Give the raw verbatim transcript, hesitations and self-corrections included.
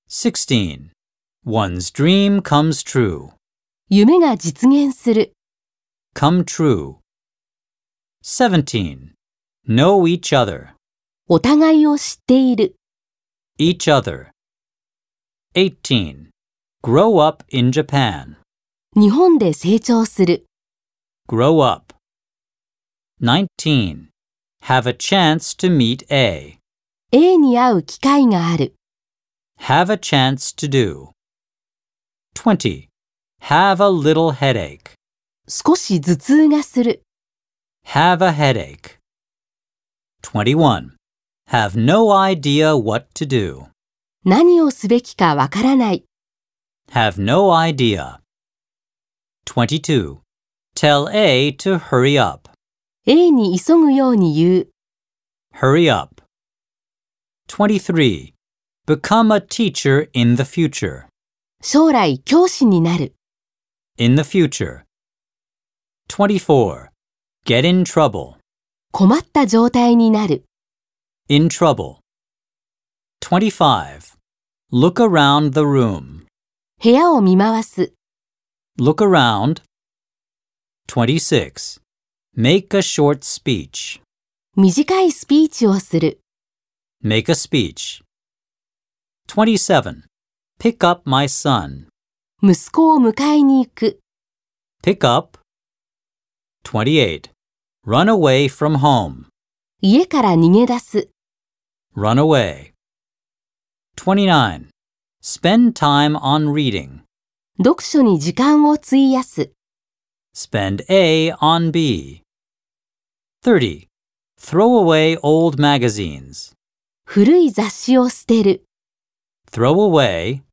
sixteen. One's dream comes true. 夢が実現する。 Come true. seventeen. Know each other. お互いを知っている。 Each other. eighteen. Grow up in Japan. 日本で成長する。 Grow up. nineteen. Have a chance to meet A. A に会う機会がある。 Have a chance to do. twenty. Have a little headache. 少し頭痛がする。 Have a headache. twenty-one. Have no idea what to do. 何をすべきかわからない。 Have no idea. twenty-two. Tell A to hurry up. A に急ぐように言う。 Hurry up. twenty-three. Become a teacher in the future. 将来教師になる。 In the future. twenty-four. Get in trouble. 困った状態になる。 In trouble. twenty-five. Look around the room. 部屋を見回す。 Look around. twenty-six. Make a short speech. 短いスピーチをする。 Make a speech. twenty-seven. Pick up my son. 息子を迎えに行く。 Pick up. twenty-eight. Run away from home. 家から逃げ出す。 Run away. twenty-nine. Spend time on reading. 読書に時間を費やす。 Spend A on B. thirty. Throw away old magazines. 古い雑誌を捨てる。 Throw away.